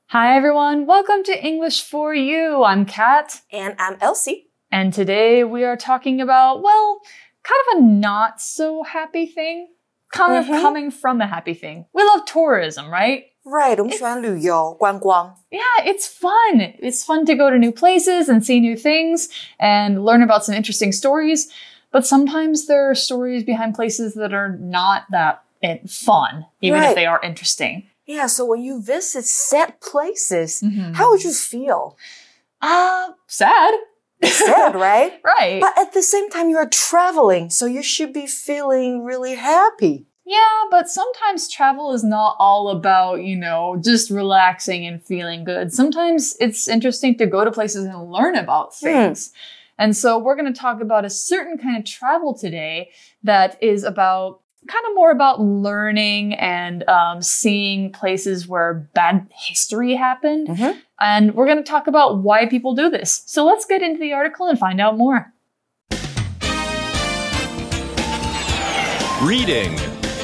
Hi everyone, welcome to English for You. I'm Kat. And I'm Elsie. And today we are talking about, well, kind of a not so happy thing. Kind of coming from a happy thing. We love tourism, right? Right, 我们喜欢旅游, 观光. Yeah, it's fun. It's fun to go to new places and see new things and learn about some interesting stories. But sometimes there are stories behind places that are not that fun, even if they are interesting. Yeah, so when you visit sad places, how would you feel? Sad. Sad, right? Right. But at the same time, you are traveling, so you should be feeling really happy. Yeah, but sometimes travel is not all about, just relaxing and feeling good. Sometimes it's interesting to go to places and learn about things. And so we're going to talk about a certain kind of travel today that is about kind of more about learning and seeing places where bad history happened. And we're going to talk about why people do this. So let's get into the article and find out more. Reading.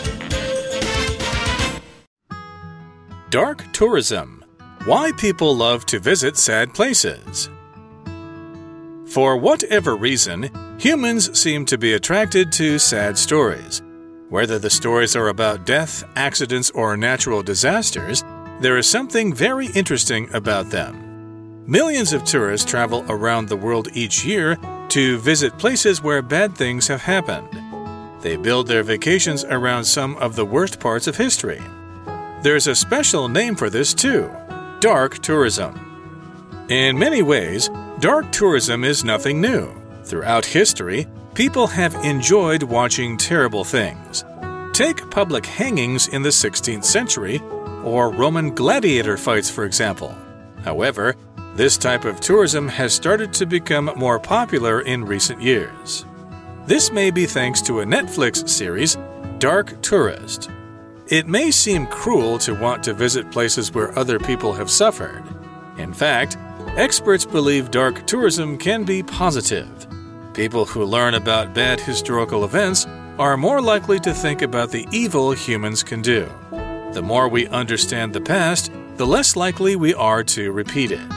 Dark tourism. Why people love to visit sad places. For whatever reason, humans seem to be attracted to sad stories. Whether the stories are about death, accidents, or natural disasters, there is something very interesting about them. Millions of tourists travel around the world each year to visit places where bad things have happened. They build their vacations around some of the worst parts of history. There's a special name for this too: dark tourism. In many ways, dark tourism is nothing new. Throughout history, people have enjoyed watching terrible things. Take public hangings in the 16th century, or Roman gladiator fights, for example. However, this type of tourism has started to become more popular in recent years. This may be thanks to a Netflix series, Dark Tourist. It may seem cruel to want to visit places where other people have suffered. In fact, experts believe dark tourism can be positive. People who learn about bad historical events are more likely to think about the evil humans can do. The more we understand the past, the less likely we are to repeat it.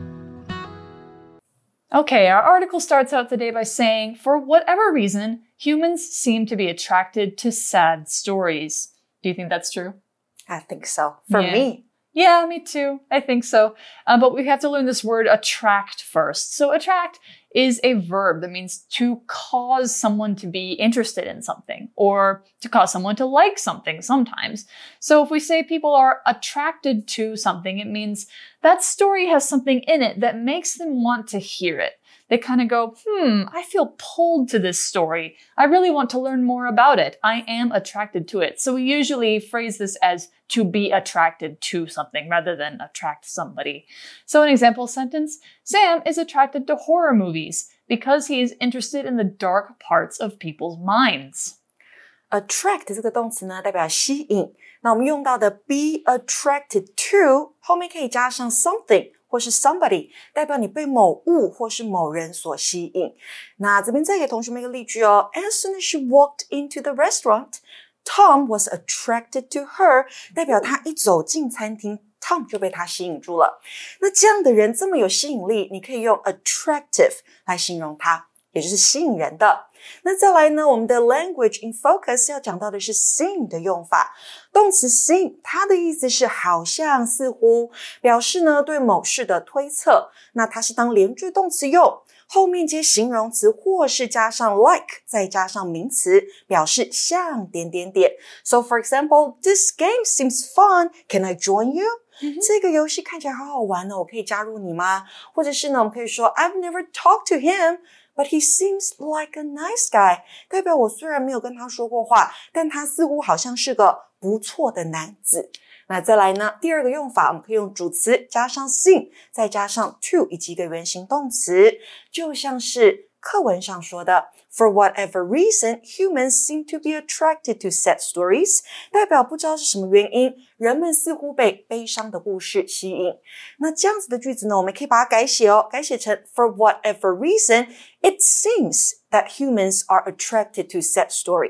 Okay, our article starts out today by saying, for whatever reason, humans seem to be attracted to sad stories. Do you think that's true? I think so. For me. Yeah, me too. I think so. But we have to learn this word attract first. So attract is a verb that means to cause someone to be interested in something or to cause someone to like something sometimes. So if we say people are attracted to something, it means that story has something in it that makes them want to hear it. They kind of go, I feel pulled to this story. I really want to learn more about it. I am attracted to it. So we usually phrase this as to be attracted to something rather than attract somebody. So an example sentence, Sam is attracted to horror movies because he is interested in the dark parts of people's minds. Attract 这个动詞呢，代表吸引。那我們用到的 be attracted to 後面可以加上 something。或是 somebody 代表你被某物或是某人所吸引。那這邊再給同學們一個例句哦。As soon as she walked into the restaurant, Tom was attracted to her 代表他一走進餐廳 Tom 就被他吸引住了。那這樣的人這麼有吸引力，你可以用 attractive 來形容他，也就是吸引人的。那再來呢，我們的 language in focus 要講到的是 seem 的用法。動詞 seem 它的意思是好像似乎，表示呢對某事的推測。那它是當連句動詞用，後面接形容詞或是加上 like 再加上名詞，表示像點點點。So for example, this game seems fun. Can I join you? 這個遊戲看起來好好玩哦，我可以加入你嗎？或者是呢，我們可以說 I've never talked to him.But he seems like a nice guy. 代表我雖然沒有跟他說過話，但他似乎好像是個不錯的男子。那再來呢，第二個用法，我們可以用主詞加上 seem， 再加上 to 以及一個原形動詞，就像是課文上說的 For whatever reason, humans seem to be attracted to sad stories. 代表不知道是什麼原因，人們似乎被悲傷的故事吸引。那這樣子的句子呢，我們可以把它改寫哦，改寫成 For whatever reason, it seems that humans are attracted to sad stories.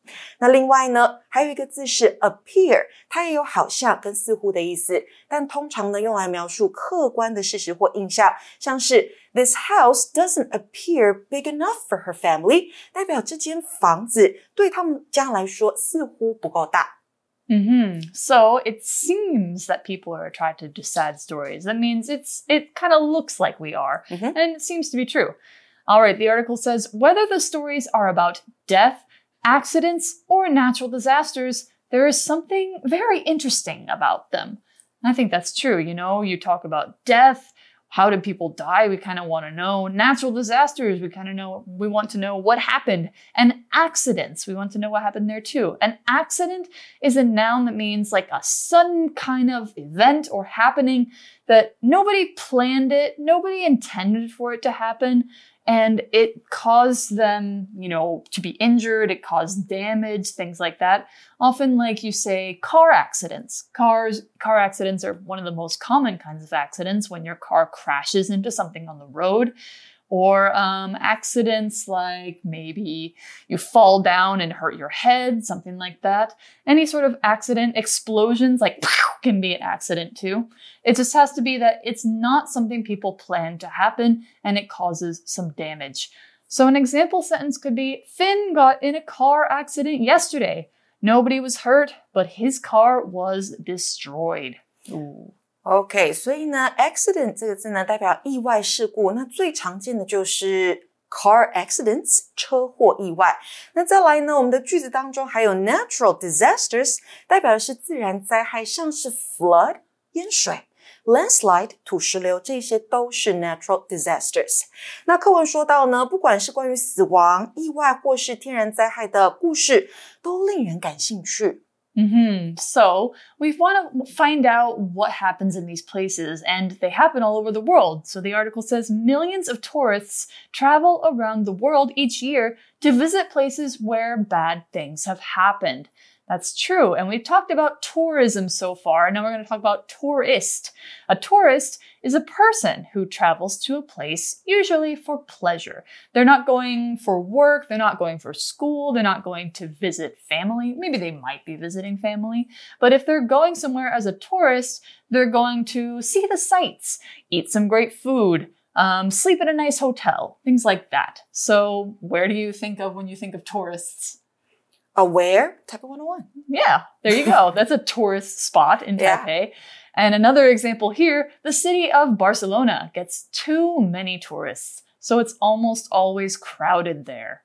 那另外呢，還有一個字是 appear， 它也有好像跟似乎的意思，但通常呢用來描述客觀的事實或印象，像是 This house doesn't appear big enough for her family， 代表這間房子對他們家來說似乎不夠大。 So it seems that people are attracted to sad stories. That means it kind of looks like we are, and it seems to be true. All right, the article says, whether the stories are about death, accidents, or natural disasters, there is something very interesting about them. And I think that's true. You know, you talk about death. How did people die? We kind of want to know. Natural disasters, we want to know what happened. And accidents, we want to know what happened there too. An accident is a noun that means like a sudden kind of event or happening that nobody planned it, nobody intended for it to happen. And it caused them, you know, to be injured. It caused damage, things like that. Often, like you say, car accidents. Car accidents are one of the most common kinds of accidents when your car crashes into something on the road. Or accidents like maybe you fall down and hurt your head, something like that. Any sort of accident, explosions like can be an accident too. It just has to be that it's not something people plan to happen and it causes some damage. So an example sentence could be, Finn got in a car accident yesterday. Nobody was hurt, but his car was destroyed. Ooh. OK， 所以呢 accident 這個字呢代表意外事故，那最常見的就是 car accidents 車禍意外。那再來呢，我們的句子當中還有 natural disasters， 代表的是自然災害，像是 flood 淹水、landslide 土石流，這些都是 natural disasters。那課文說到呢，不管是關於死亡、意外或是天然災害的故事，都令人感興趣。 So we want to find out what happens in these places, and they happen all over the world. So the article says millions of tourists travel around the world each year to visit places where bad things have happened. That's true. And we've talked about tourism so far. Now we're going to talk about tourist. A tourist is a person who travels to a place, usually for pleasure. They're not going for work. They're not going for school. They're not going to visit family. Maybe they might be visiting family. But if they're going somewhere as a tourist, they're going to see the sights, eat some great food, sleep in a nice hotel, things like that. So where do you think of when you think of tourists? Where? Taipei 101. Yeah, there you go. That's a tourist spot in Taipei. Yeah. And another example here, the city of Barcelona gets too many tourists, so it's almost always crowded there.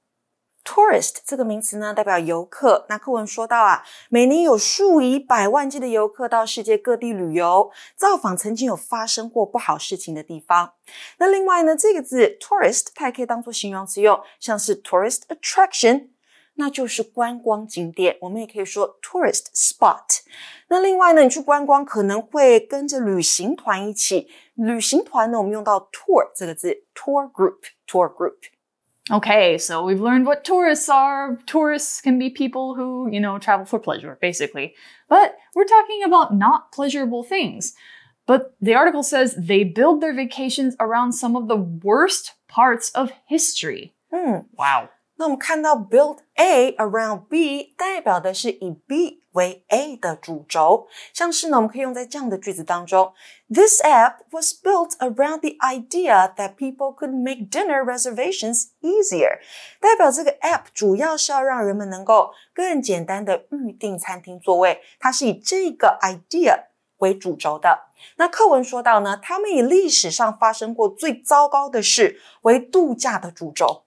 Tourist 這個名詞呢，代表遊客。那課文說到啊，每年有數以百萬計的遊客到世界各地旅遊，造訪曾經有發生過不好事情的地方。那另外呢，這個字 tourist 它也可以當作形容詞用，像是 tourist attraction。那就是觀光景點，我們也可以說 tourist spot。那另外呢，你去觀光可能會跟着旅行團一起，旅行團呢，我們用到 tour 這個字 tour group。 Okay, so we've learned what tourists are. Tourists can be people who, you know, travel for pleasure, basically. But we're talking about not pleasurable things. But the article says they build their vacations around some of the worst parts of history. Wow. 那我們看到 build A around B 代表的是以 B 為 A 的主軸，像是呢我們可以用在這樣的句子當中 This app was built around the idea that people could make dinner reservations easier 代表這個 app 主要是要讓人們能夠更簡單的預訂餐廳座位，它是以這個 idea 為主軸的。那課文說到呢，他們以歷史上發生過最糟糕的事為度假的主軸。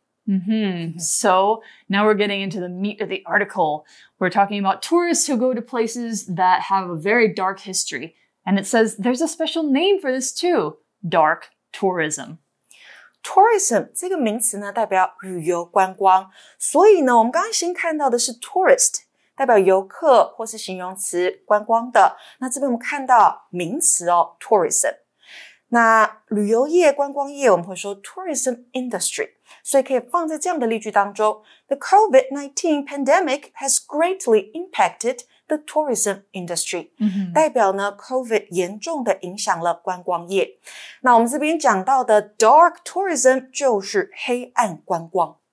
So now we're getting into the meat of the article. We're talking about tourists who go to places that have a very dark history. And it says there's a special name for this too. Dark tourism. Tourism 這個名詞呢，代表旅遊觀光。所以呢，我們剛剛先看到的是 tourist， 代表遊客或是形容詞觀光的。那這邊我們看到名詞哦 tourism。那旅遊業、觀光業我們會說 tourism industry， 所以可以放在這樣的例句當中 The COVID-19 pandemic has greatly impacted the tourism industry， 代表呢 COVID 嚴重的影響了觀光業。那我們這邊講到的 dark tourism 就是黑暗觀光。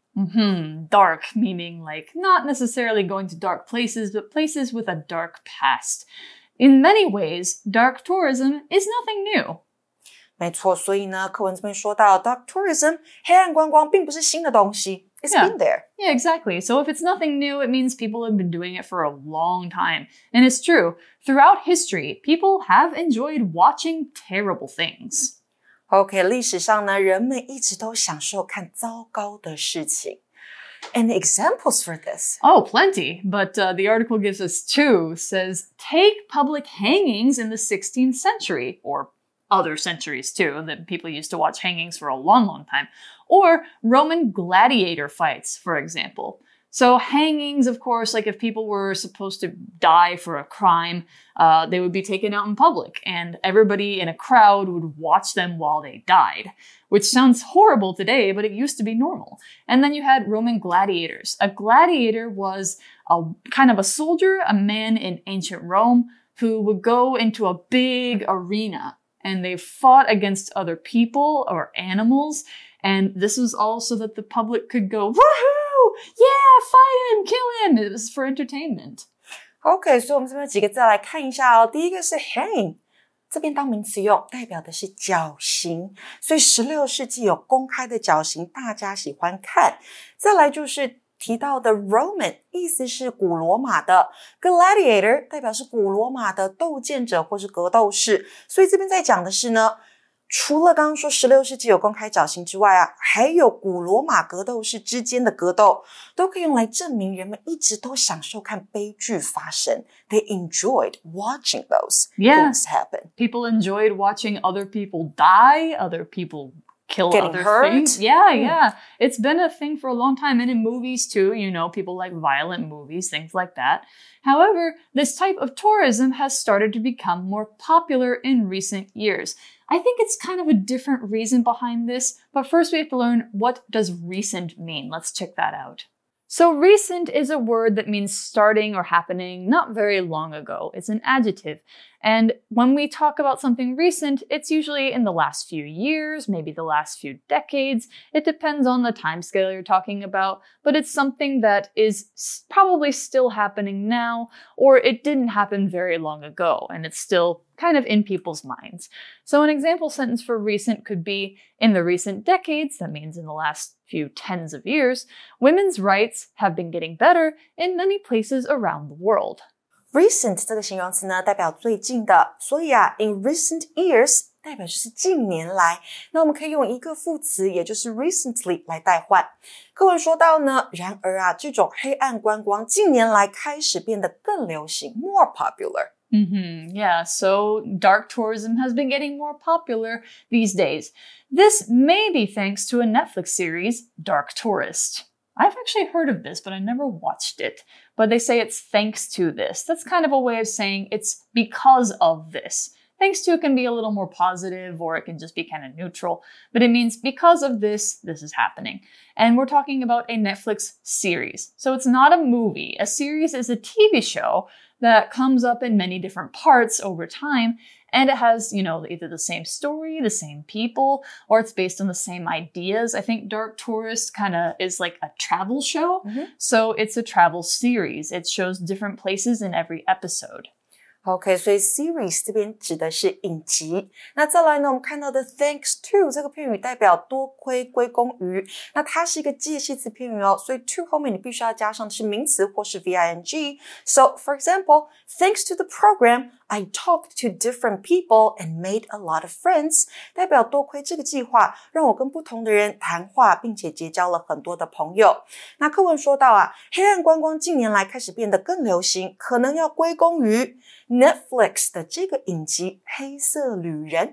Dark, meaning like not necessarily going to dark places, but places with a dark past. In many ways, dark tourism is nothing new. 没錯，所以呢，課文這邊說到 dark tourism 黑暗觀光並不是新的東西 It's been there. Yeah, exactly. So if it's nothing new, it means people have been doing it for a long time. And it's true. Throughout history, people have enjoyed watching terrible things. OK, 歷史上呢，人們一直都享受看糟糕的事情。And examples for this? Oh, plenty. But the article gives us two. Says, take public hangings in the 16th century, or other centuries too, that people used to watch hangings for a long, long time. Or Roman gladiator fights, for example. So hangings, of course, like if people were supposed to die for a crime, they would be taken out in public, and everybody in a crowd would watch them while they died, which sounds horrible today, but it used to be normal. And then you had Roman gladiators. A gladiator was a kind of a soldier, a man in ancient Rome, who would go into a big arena, and they fought against other people or animals. And this was all so that the public could go, woohoo! Yeah, fight him, kill him! It was for entertainment. OK, 所以我们这邊有幾個字來看一下哦。第一個是 hang， 這邊當名詞用，代表的是絞刑。所以16世紀有公開的絞刑，大家喜歡看。再來就是提到的 Roman， 意思是古羅馬的 gladiator， 代表是古羅馬的鬥劍者或是格鬥士。所以這邊在講的是呢，除了剛剛說16世紀有公開絞刑之外啊，還有古羅馬格鬥士之間的格鬥，都可以用來證明人們一直都享受看悲劇發生。They enjoyed watching those things happen. People enjoyed watching other people die, other people kill Getting other hurt. things. Yeah. It's been a thing for a long time. And in movies too, you know, people like violent movies, things like that. However, this type of tourism has started to become more popular in recent years. I think it's kind of a different reason behind this, but first we have to learn, what does recent mean? Let's check that out. So recent is a word that means starting or happening not very long ago. It's an adjective. And when we talk about something recent, it's usually in the last few years, maybe the last few decades. It depends on the time scale you're talking about, but it's something that is probably still happening now, or it didn't happen very long ago, and it's still kind of in people's minds. So an example sentence for recent could be, in the recent decades, that means in the last few tens of years, women's rights have been getting better in many places around the world. Recent 這個形容詞呢，代表最近的，所以啊 in recent years 代表就是近年來。那我們可以用一個副詞，也就是 recently 來代換。課文說到呢，然而啊，這種黑暗觀光近年來開始變得更流行 more popular. Yeah, so dark tourism has been getting more popular these days. This may be thanks to a Netflix series, Dark Tourist. I've actually heard of this, but I never watched it. But they say it's thanks to this. That's kind of a way of saying it's because of this. Thanks to can be a little more positive, or it can just be kind of neutral. But it means because of this, this is happening. And we're talking about a Netflix series. So it's not a movie. A series is a TV show that comes up in many different parts over time. And it has, you know, either the same story, the same people, or it's based on the same ideas. I think Dark Tourist kind of is like a travel show. So it's a travel series. It shows different places in every episode. OK, 所以 series 這邊指的是影集。那再來呢，我們看到的 thanks to 這個片語代表多虧歸功於，那它是一個介系詞片語哦，所以 to 後面你必須要加上的是名詞或是 VING. So, for example, thanks to the program, I talked to different people and made a lot of friends. 代表多虧這個計劃，讓我跟不同的人談話，並且結交了很多的朋友。那課文說到啊，黑暗觀光近年來開始變得更流行，可能要歸功於Netflix 的這個影集黑色旅人。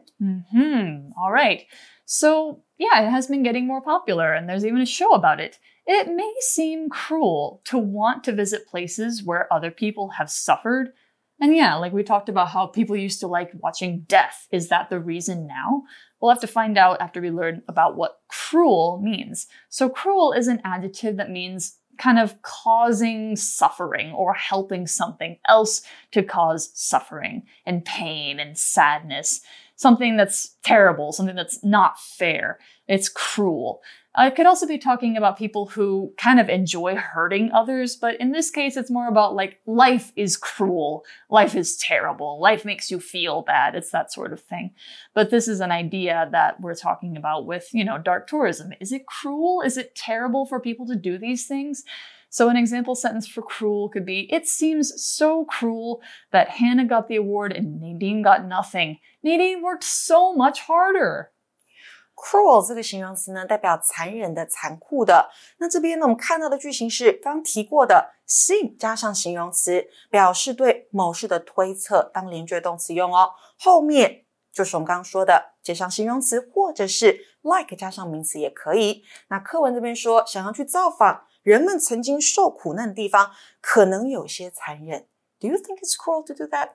All right. So, yeah, it has been getting more popular, and there's even a show about it. It may seem cruel to want to visit places where other people have suffered. And yeah, like we talked about how people used to like watching death. Is that the reason now? We'll have to find out after we learn about what cruel means. So cruel is an adjective that means kind of causing suffering or helping something else to cause suffering and pain and sadness. Something that's terrible, something that's not fair. It's cruel. It could also be talking about people who kind of enjoy hurting others, but in this case, it's more about like, life is cruel, life is terrible, life makes you feel bad. It's that sort of thing. But this is an idea that we're talking about with, dark tourism. Is it cruel? Is it terrible for people to do these things? So an example sentence for cruel could be, it seems so cruel that Hannah got the award and Nadine got nothing. Nadine worked so much harder. Cruel 這個形容詞呢，代表殘忍的、殘酷的。那這邊呢，我們看到的句型是剛提過的 seem 加上形容詞，表示對某事的推測，當連句動詞用哦。後面就是我們剛剛說的接上形容詞，或者是 like 加上名詞也可以。那課文這邊說，想要去造訪人們曾經受苦難的地方，可能有些殘忍。Do you think it's cruel to do that?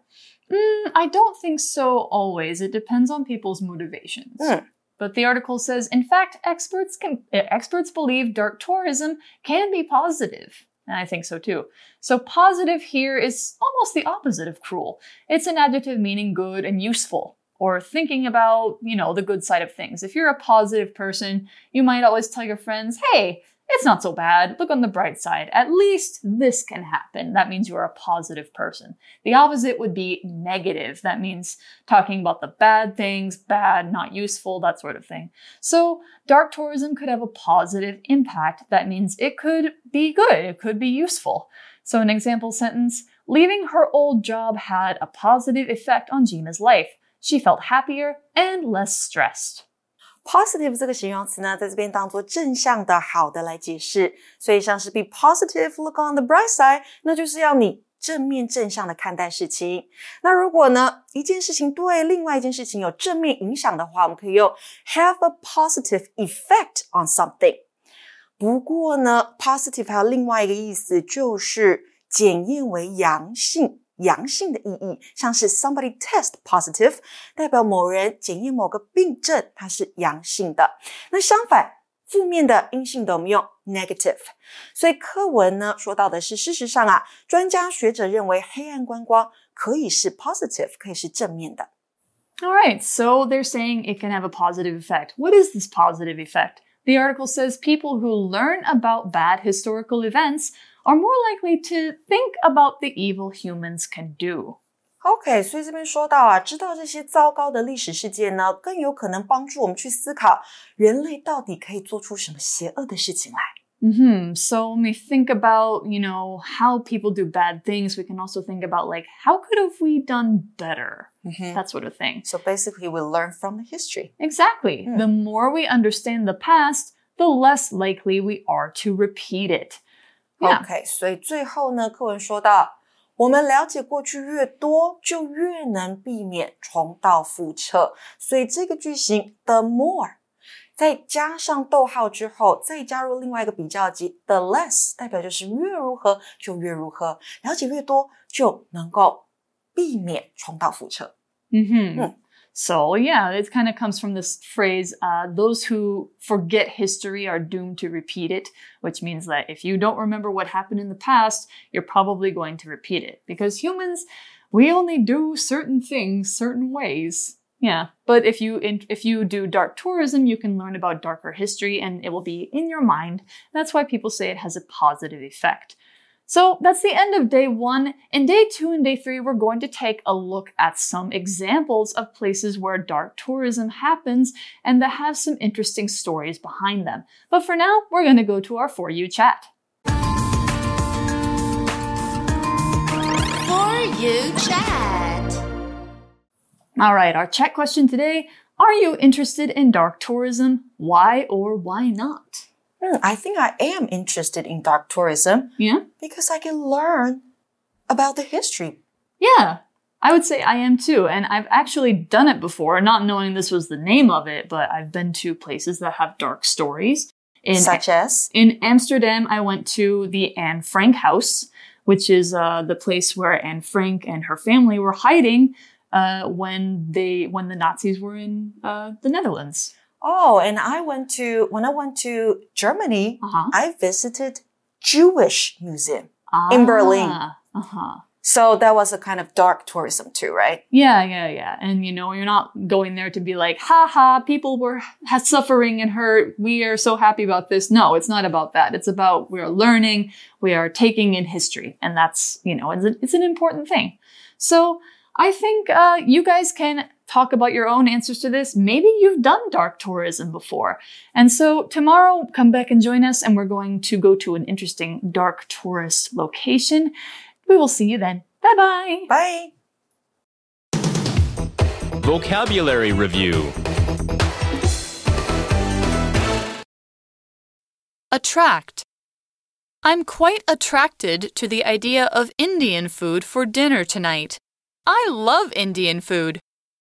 I don't think so always. It depends on people's motivations. But the article says, in fact, experts believe dark tourism can be positive. And I think so too. So positive here is almost the opposite of cruel. It's an adjective meaning good and useful, or thinking about, the good side of things. If you're a positive person, you might always tell your friends, hey, it's not so bad. Look on the bright side. At least this can happen. That means you're a positive person. The opposite would be negative. That means talking about the bad things, bad, not useful, that sort of thing. So dark tourism could have a positive impact. That means it could be good. It could be useful. So an example sentence, leaving her old job had a positive effect on Gina's life. She felt happier and less stressed. Positive 這個形容詞呢，在這邊當作正向的、好的來解釋，所以像是 be positive, look on the bright side， 那就是要你正面正向的看待事情。那如果呢，一件事情對另外一件事情有正面影響的話，我們可以用 have a positive effect on something。不過呢 ，positive 還有另外一個意思，就是檢驗為陽性。陽性的意義，像是 somebody test positive， 代表某人檢驗某個病症，它是陽性的。那相反，負面的陰性的我們用 negative。所以課文呢說到的是，事實上啊，專家學者認為黑暗觀光可以是 positive， 可以是正面的。 All right, so they're saying it can have a positive effect. What is this positive effect? The article says people who learn about bad historical events are more likely to think about the evil humans can do. OK， 所以這邊說到啊，知道這些糟糕的歷史事件呢，更有可能幫助我們去思考人類到底可以做出什麼邪惡的事情來。 So when we think about, how people do bad things, we can also think about how could have we done better? That sort of thing. So basically we learn from the history. Exactly. The more we understand the past, the less likely we are to repeat it. OK， 所以最後呢，課文說到，我們了解過去越多，就越能避免重蹈覆轍。所以這個句型 the more 再加上逗號之後，再加入另外一個比較級 the less， 代表就是越如何就越如何，了解越多就能夠避免重蹈覆轍。 So yeah, it kind of comes from this phrase, those who forget history are doomed to repeat it, which means that if you don't remember what happened in the past, you're probably going to repeat it. Because humans, we only do certain things certain ways. Yeah, but if you do dark tourism, you can learn about darker history and it will be in your mind. That's why people say it has a positive effect. So that's the end of day 1. In day 2 and day 3, we're going to take a look at some examples of places where dark tourism happens and that have some interesting stories behind them. But for now, we're going to go to our For You chat. For You chat. All right, our chat question today. Are you interested in dark tourism? Why or why not? I think I am interested in dark tourism. Yeah? Because I can learn about the history. Yeah, I would say I am too. And I've actually done it before, not knowing this was the name of it, but I've been to places that have dark stories. Such as? In Amsterdam, I went to the Anne Frank house, which is the place where Anne Frank and her family were hiding when the Nazis were in the Netherlands. Oh, and when I went to Germany, I visited Jewish Museum in Berlin. So that was a kind of dark tourism too, right? Yeah. And you're not going there to be like, people were suffering and hurt. We are so happy about this. No, it's not about that. It's about we are learning, we are taking in history. And that's, it's an important thing. So I think you guys can talk about your own answers to this. Maybe you've done dark tourism before. And so tomorrow, come back and join us, and we're going to go to an interesting dark tourist location. We will see you then. Bye-bye. Bye. Vocabulary Review. Attract. I'm quite attracted to the idea of Indian food for dinner tonight. I love Indian food.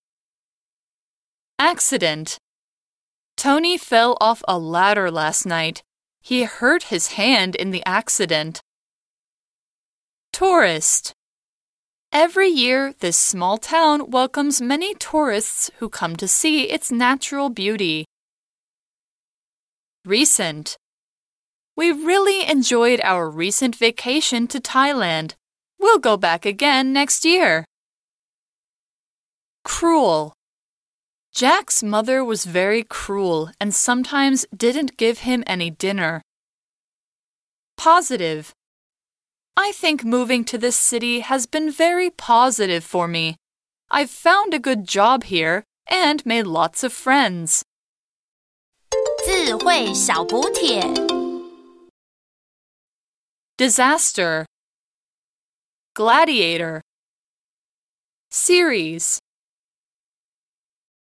Accident. Tony fell off a ladder last night. He hurt his hand in the accident. Tourist. Every year, this small town welcomes many tourists who come to see its natural beauty. Recent. We really enjoyed our recent vacation to Thailand. We'll go back again next year. Cruel. Jack's mother was very cruel and sometimes didn't give him any dinner. Positive. I think moving to this city has been very positive for me. I've found a good job here and made lots of friends. 智慧小補帖 Disaster. Gladiator. Series.